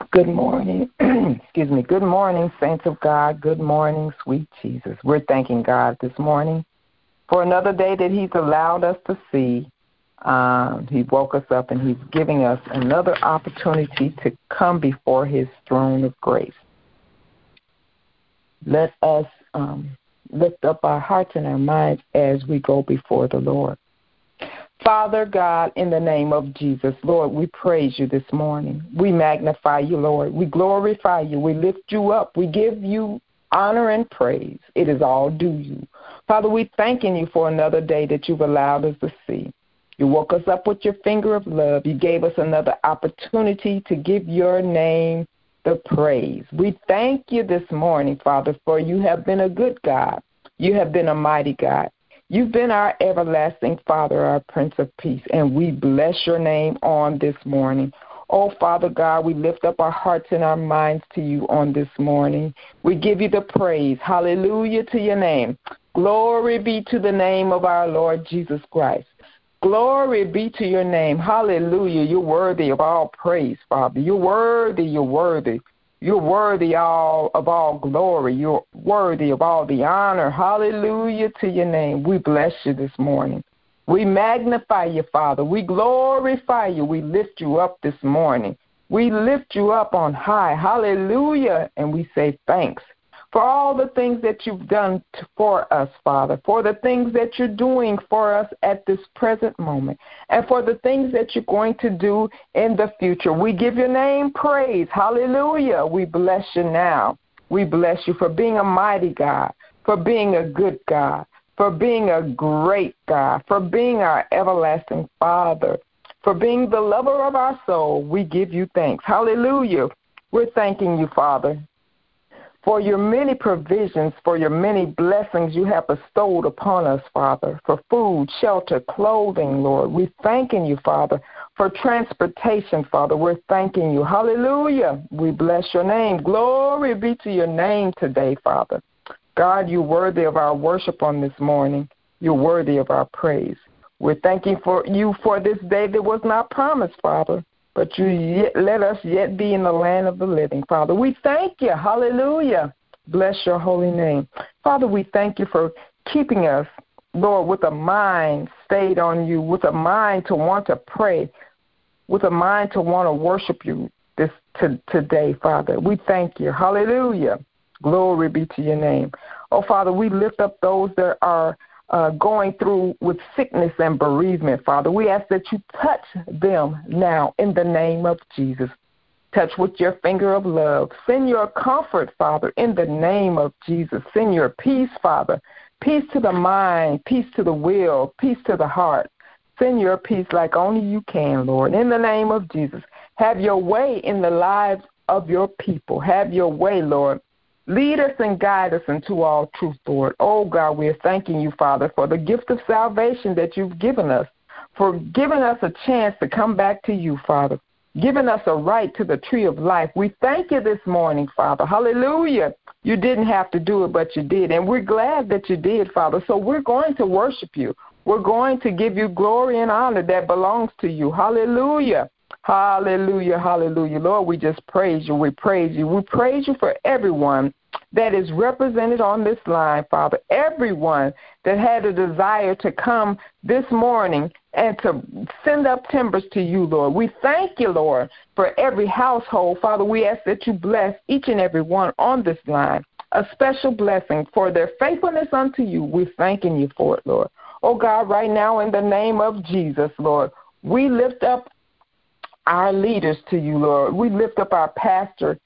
Good morning. Excuse me. Good morning, saints of God. Good morning, sweet Jesus. We're thanking God this morning for another day that He's allowed us to see. He woke us up and He's giving us another opportunity to come before His throne of grace. Let us lift up our hearts and our minds as we go before the Lord. Father God, in the name of Jesus, Lord, we praise you this morning. We magnify you, Lord. We glorify you. We lift you up. We give you honor and praise. It is all due you. Father, we thanking you for another day that you've allowed us to see. You woke us up with your finger of love. You gave us another opportunity to give your name the praise. We thank you this morning, Father, for you have been a good God. You have been a mighty God. You've been our everlasting Father, our Prince of Peace, and we bless your name on this morning. Oh, Father God, we lift up our hearts and our minds to you on this morning. We give you the praise. Hallelujah to your name. Glory be to the name of our Lord Jesus Christ. Glory be to your name. Hallelujah. You're worthy of all praise, Father. You're worthy. You're worthy. You're worthy of all glory. You're worthy of all the honor. Hallelujah to your name. We bless you this morning. We magnify you, Father. We glorify you. We lift you up this morning. We lift you up on high. Hallelujah. And we say thanks for all the things that you've done for us, Father, for the things that you're doing for us at this present moment, and for the things that you're going to do in the future. We give your name praise. Hallelujah. We bless you now. We bless you for being a mighty God, for being a good God, for being a great God, for being our everlasting Father, for being the lover of our soul. We give you thanks. Hallelujah. We're thanking you, Father, for your many provisions, for your many blessings you have bestowed upon us, Father, for food, shelter, clothing, Lord. We're thanking you, Father, for transportation, Father. We're thanking you. Hallelujah. We bless your name. Glory be to your name today, Father. God, you're worthy of our worship on this morning. You're worthy of our praise. We're thanking you for this day that was not promised, Father, but you yet let us yet be in the land of the living, Father. We thank you. Hallelujah. Bless your holy name. Father, we thank you for keeping us, Lord, with a mind stayed on you, with a mind to want to pray, with a mind to want to worship you today, Father. We thank you. Hallelujah. Glory be to your name. Oh, Father, we lift up those that are going through with sickness and bereavement, Father. We ask that you touch them now in the name of Jesus. Touch with your finger of love. Send your comfort, Father, in the name of Jesus. Send your peace, Father. Peace to the mind, peace to the will, peace to the heart. Send your peace like only you can, Lord, in the name of Jesus. Have your way in the lives of your people. Have your way, Lord. Lead us and guide us into all truth, Lord. Oh, God, we are thanking you, Father, for the gift of salvation that you've given us, for giving us a chance to come back to you, Father, giving us a right to the tree of life. We thank you this morning, Father. Hallelujah. You didn't have to do it, but you did, and we're glad that you did, Father. So we're going to worship you. We're going to give you glory and honor that belongs to you. Hallelujah. Hallelujah, hallelujah. Lord, we just praise you. We praise you. We praise you for everyone that is represented on this line, Father. Everyone that had a desire to come this morning and to send up timbers to you, Lord. We thank you, Lord, for every household. Father, we ask that you bless each and every one on this line. A special blessing for their faithfulness unto you. We're thanking you for it, Lord. Oh, God, right now in the name of Jesus, Lord, we lift up our leaders to you, Lord. We lift up our pastor,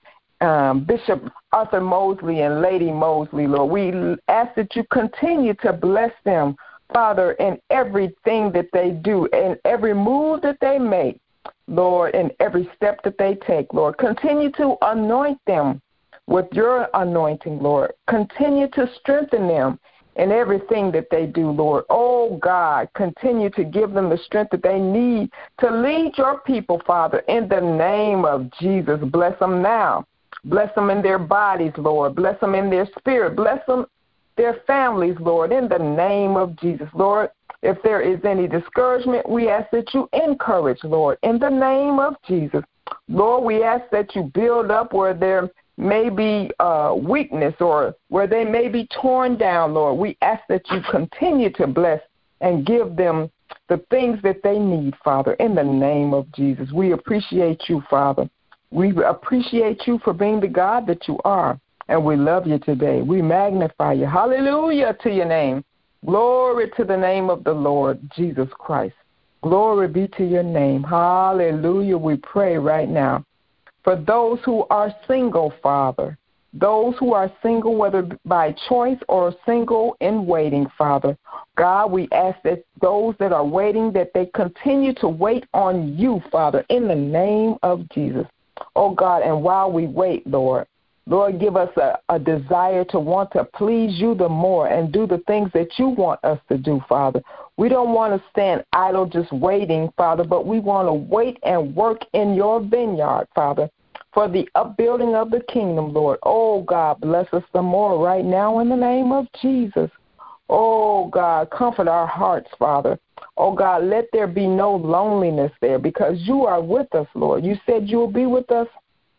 Bishop Arthur Mosley and Lady Mosley, Lord. We ask that you continue to bless them, Father, in everything that they do, in every move that they make, Lord, in every step that they take, Lord. Continue to anoint them with your anointing, Lord. Continue to strengthen them in everything that they do, Lord. Oh, God, continue to give them the strength that they need to lead your people, Father, in the name of Jesus. Bless them now. Bless them in their bodies, Lord. Bless them in their spirit. Bless them, their families, Lord, in the name of Jesus. Lord, if there is any discouragement, we ask that you encourage, Lord, in the name of Jesus. Lord, we ask that you build up where there may be weakness or where they may be torn down, Lord. We ask that you continue to bless and give them the things that they need, Father, in the name of Jesus. We appreciate you, Father. We appreciate you for being the God that you are, and we love you today. We magnify you. Hallelujah to your name. Glory to the name of the Lord Jesus Christ. Glory be to your name. Hallelujah. We pray right now for those who are single, Father, those who are single, whether by choice or single in waiting, Father. God, we ask that those that are waiting, that they continue to wait on you, Father, in the name of Jesus. Oh, God, and while we wait, Lord, give us a desire to want to please you the more and do the things that you want us to do, Father. We don't want to stand idle just waiting, Father, but we want to wait and work in your vineyard, Father, for the upbuilding of the kingdom, Lord. Oh, God, bless us the more right now in the name of Jesus. Oh, God, comfort our hearts, Father. Oh, God, let there be no loneliness there because you are with us, Lord. You said you will be with us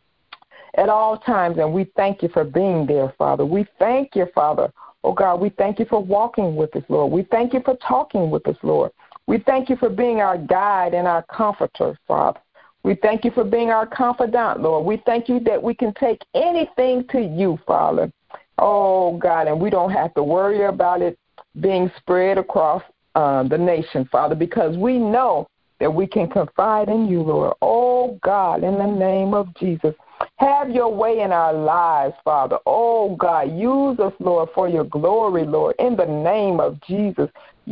at all times, and we thank you for being there, Father. We thank you, Father. Oh, God, we thank you for walking with us, Lord. We thank you for talking with us, Lord. We thank you for being our guide and our comforter, Father. We thank you for being our confidant, Lord. We thank you that we can take anything to you, Father. Oh, God, and we don't have to worry about it being spread across the nation, Father, because we know that we can confide in you, Lord. Oh, God, in the name of Jesus, have your way in our lives, Father. Oh, God, use us, Lord, for your glory, Lord, in the name of Jesus.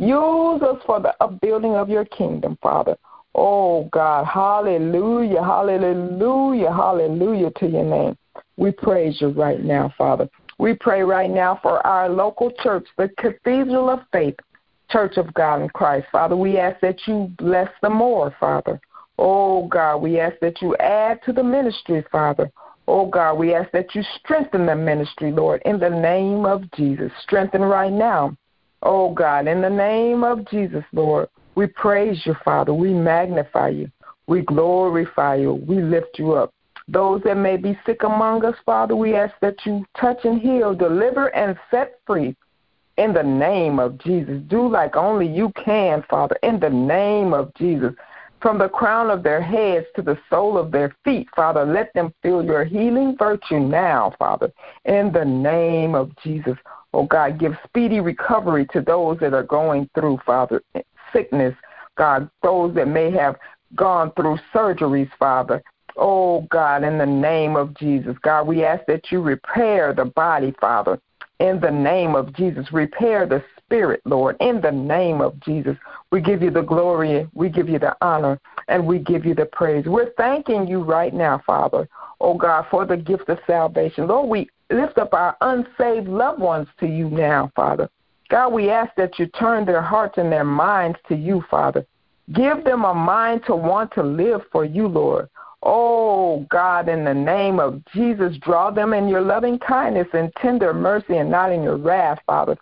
Use us for the upbuilding of your kingdom, Father. Oh, God, hallelujah, hallelujah, hallelujah to your name. We praise you right now, Father. We pray right now for our local church, the Cathedral of Faith, Church of God in Christ. Father, we ask that you bless them more, Father. Oh, God, we ask that you add to the ministry, Father. Oh, God, we ask that you strengthen the ministry, Lord, in the name of Jesus. Strengthen right now. Oh, God, in the name of Jesus, Lord, we praise you, Father. We magnify you. We glorify you. We lift you up. Those that may be sick among us, Father, we ask that you touch and heal, deliver and set free in the name of Jesus. Do like only you can, Father, in the name of Jesus. From the crown of their heads to the sole of their feet, Father, let them feel your healing virtue now, Father, in the name of Jesus. Oh, God, give speedy recovery to those that are going through, Father, sickness, God, those that may have gone through surgeries, Father. Oh, God, in the name of Jesus, God, we ask that you repair the body, Father, in the name of Jesus. Repair the spirit, Lord, in the name of Jesus. We give you the glory, we give you the honor, and we give you the praise. We're thanking you right now, Father, oh, God, for the gift of salvation. Lord, we lift up our unsaved loved ones to you now, Father. God, we ask that you turn their hearts and their minds to you, Father. Give them a mind to want to live for you, Lord. Oh, God, in the name of Jesus, draw them in your loving kindness and tender mercy and not in your wrath, Father.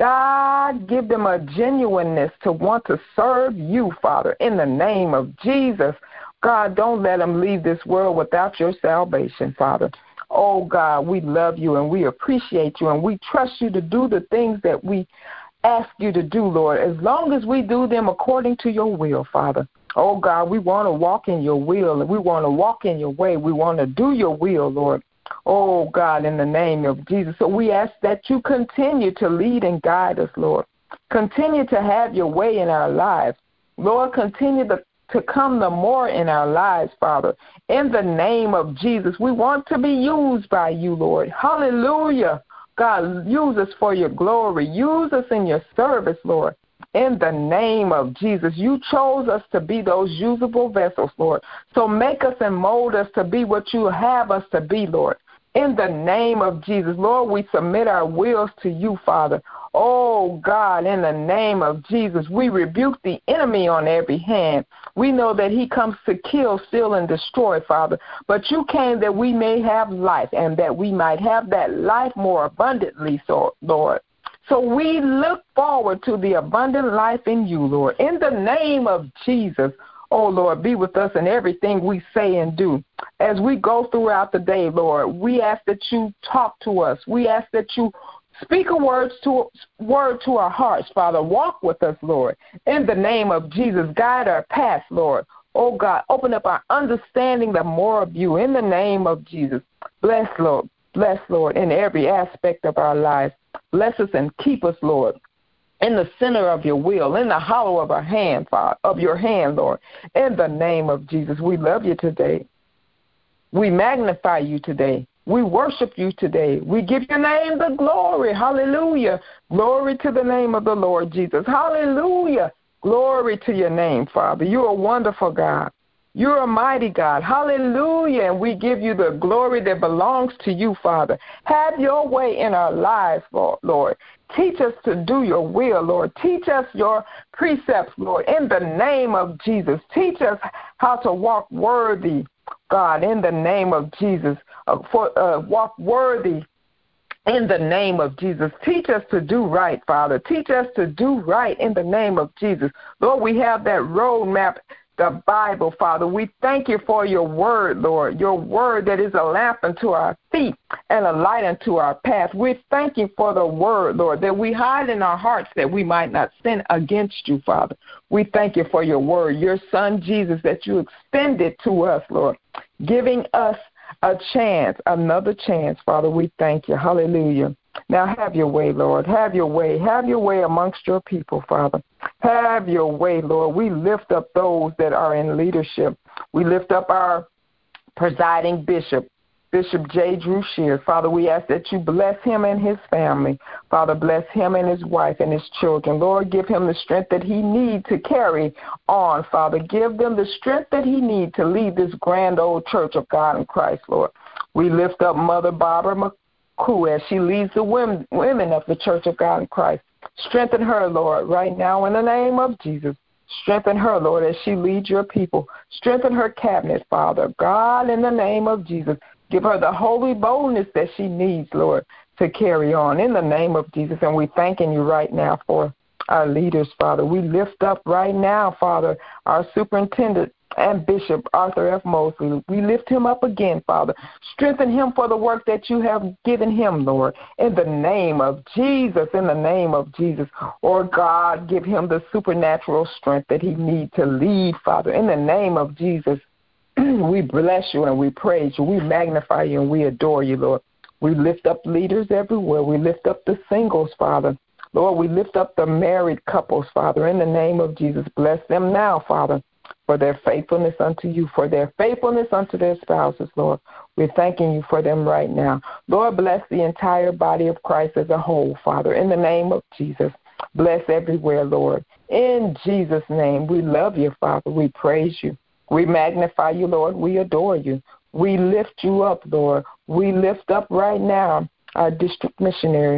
God, give them a genuineness to want to serve you, Father, in the name of Jesus. God, don't let them leave this world without your salvation, Father. Oh, God, we love you and we appreciate you and we trust you to do the things that we ask you to do, Lord, as long as we do them according to your will, Father. Oh, God, we want to walk in your will and we want to walk in your way. We want to do your will, Lord. Oh, God, in the name of Jesus. So we ask that you continue to lead and guide us, Lord. Continue to have your way in our lives. Lord, continue to come the more in our lives, Father. In the name of Jesus, we want to be used by you, Lord. Hallelujah. God, use us for your glory. Use us in your service, Lord. In the name of Jesus, you chose us to be those usable vessels, Lord. So make us and mold us to be what you have us to be, Lord. In the name of Jesus, Lord, we submit our wills to you, Father. Oh, God, in the name of Jesus, we rebuke the enemy on every hand. We know that he comes to kill, steal, and destroy, Father. But you came that we may have life and that we might have that life more abundantly, so, Lord. So we look forward to the abundant life in you, Lord. In the name of Jesus, Oh, Lord, be with us in everything we say and do. As we go throughout the day, Lord, we ask that you talk to us. We ask that you speak a word to our hearts, Father. Walk with us, Lord. In the name of Jesus, guide our path, Lord. Oh, God, open up our understanding, the more of you. In the name of Jesus, bless, Lord. Bless, Lord, in every aspect of our lives. Bless us and keep us, Lord, in the center of your will, in the hollow of our hand, Father, of your hand, Lord. In the name of Jesus, we love you today. We magnify you today. We worship you today. We give your name the glory. Hallelujah. Glory to the name of the Lord Jesus. Hallelujah. Glory to your name, Father. You're a wonderful God. You're a mighty God. Hallelujah. And we give you the glory that belongs to you, Father. Have your way in our lives, Lord. Teach us to do your will, Lord. Teach us your precepts, Lord, in the name of Jesus. Teach us how to walk worthy, God, in the name of Jesus. Walk worthy in the name of Jesus. Teach us to do right, Father. Teach us to do right in the name of Jesus. Lord, we have that roadmap, the Bible, Father. We thank you for your word, Lord, your word that is a lamp unto our feet and a light unto our path. We thank you for the word, Lord, that we hide in our hearts that we might not sin against you, Father. We thank you for your word, your son, Jesus, that you extended to us, Lord, giving us a chance, another chance, Father. We thank you. Hallelujah. Now have your way, Lord. Have your way. Have your way amongst your people, Father. Have your way, Lord. We lift up those that are in leadership. We lift up our presiding bishop, Bishop J. Drew Shears. Father, we ask that you bless him and his family. Father, bless him and his wife and his children. Lord, give him the strength that he needs to carry on, Father. Give them the strength that he needs to lead this grand old church of God in Christ, Lord. We lift up Mother Barbara McCoo as she leads the women of the Church of God in Christ. Strengthen her, Lord, right now in the name of Jesus. Strengthen her, Lord, as she leads your people. Strengthen her cabinet, Father. God, in the name of Jesus. Give her the holy boldness that she needs, Lord, to carry on in the name of Jesus. And we're thanking you right now for our leaders, Father. We lift up right now, Father, our superintendent and Bishop Arthur F. Mosley. We lift him up again, Father. Strengthen him for the work that you have given him, Lord, in the name of Jesus, in the name of Jesus. Or God, give him the supernatural strength that he needs to lead, Father, in the name of Jesus. We bless you and we praise you. We magnify you and we adore you, Lord. We lift up leaders everywhere. We lift up the singles, Father. Lord, we lift up the married couples, Father, in the name of Jesus. Bless them now, Father, for their faithfulness unto you, for their faithfulness unto their spouses, Lord. We're thanking you for them right now. Lord, bless the entire body of Christ as a whole, Father, in the name of Jesus. Bless everywhere, Lord. In Jesus' name, we love you, Father. We praise you. We magnify you, Lord. We adore you. We lift you up, Lord. We lift up right now our district missionary,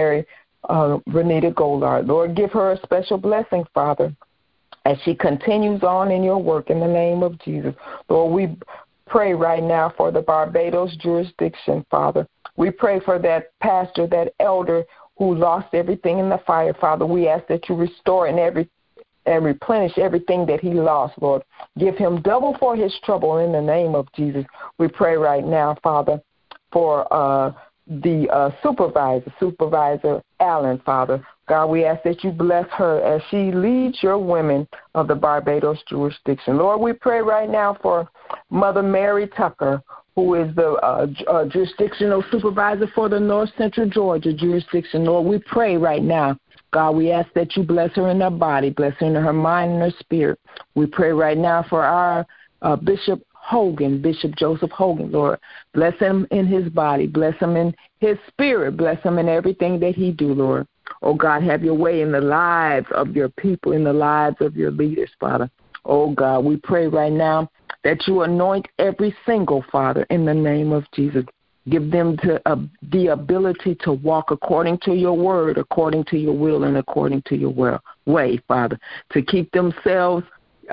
Renita Goldard. Lord, give her a special blessing, Father, as she continues on in your work in the name of Jesus. Lord, we pray right now for the Barbados jurisdiction, Father. We pray for that pastor, that elder who lost everything in the fire, Father. We ask that you restore and replenish everything that he lost, Lord. Give him double for his trouble in the name of Jesus. We pray right now, Father, for the Supervisor Allen, Father. God, we ask that you bless her as she leads your women of the Barbados jurisdiction. Lord, we pray right now for Mother Mary Tucker, who is the jurisdictional supervisor for the North Central Georgia jurisdiction. Lord, we pray right now. God, we ask that you bless her in her body, bless her in her mind and her spirit. We pray right now for our Bishop Hogan, Bishop Joseph Hogan, Lord. Bless him in his body, bless him in his spirit, bless him in everything that he do, Lord. Oh, God, have your way in the lives of your people, in the lives of your leaders, Father. Oh, God, we pray right now that you anoint every single, Father, in the name of Jesus. Give them the ability to walk according to your word, according to your will, and according to your way, Father, to keep themselves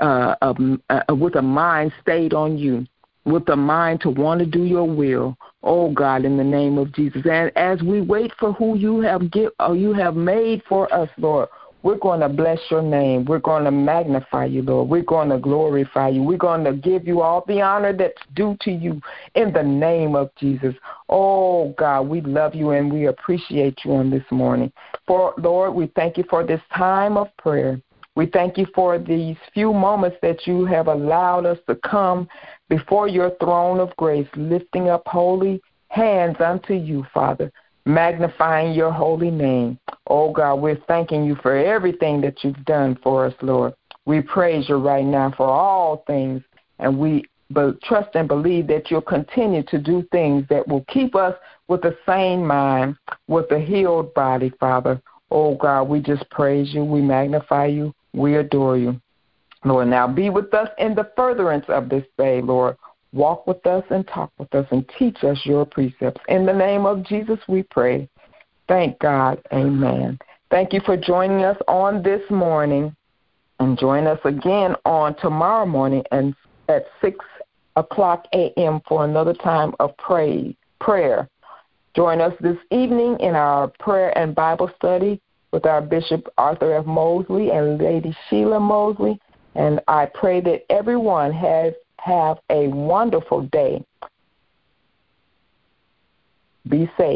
with a mind stayed on you, with a mind to want to do your will. Oh, God, in the name of Jesus. And as we wait for who you have made for us, Lord, We're going to bless your name. We're going to magnify you, Lord. We're going to glorify you. We're going to give you all the honor that's due to you in the name of Jesus. Oh, God, we love you and we appreciate you on this morning. For Lord, we thank you for this time of prayer. We thank you for these few moments that you have allowed us to come before your throne of grace, lifting up holy hands unto you, Father, magnifying your holy name. Oh, God, we're thanking you for everything that you've done for us, Lord. We praise you right now for all things, and we trust and believe that you'll continue to do things that will keep us with the same mind, with a healed body, Father. Oh, God, we just praise you. We magnify you. We adore you. Lord, now be with us in the furtherance of this day, Lord. Walk with us and talk with us and teach us your precepts. In the name of Jesus, we pray. Thank God. Amen. Thank you for joining us on this morning, and join us again on tomorrow morning and at 6 o'clock a.m. for another time of prayer. Join us this evening in our prayer and Bible study with our Bishop Arthur F. Mosley and Lady Sheila Mosley. And I pray that everyone have a wonderful day. Be safe.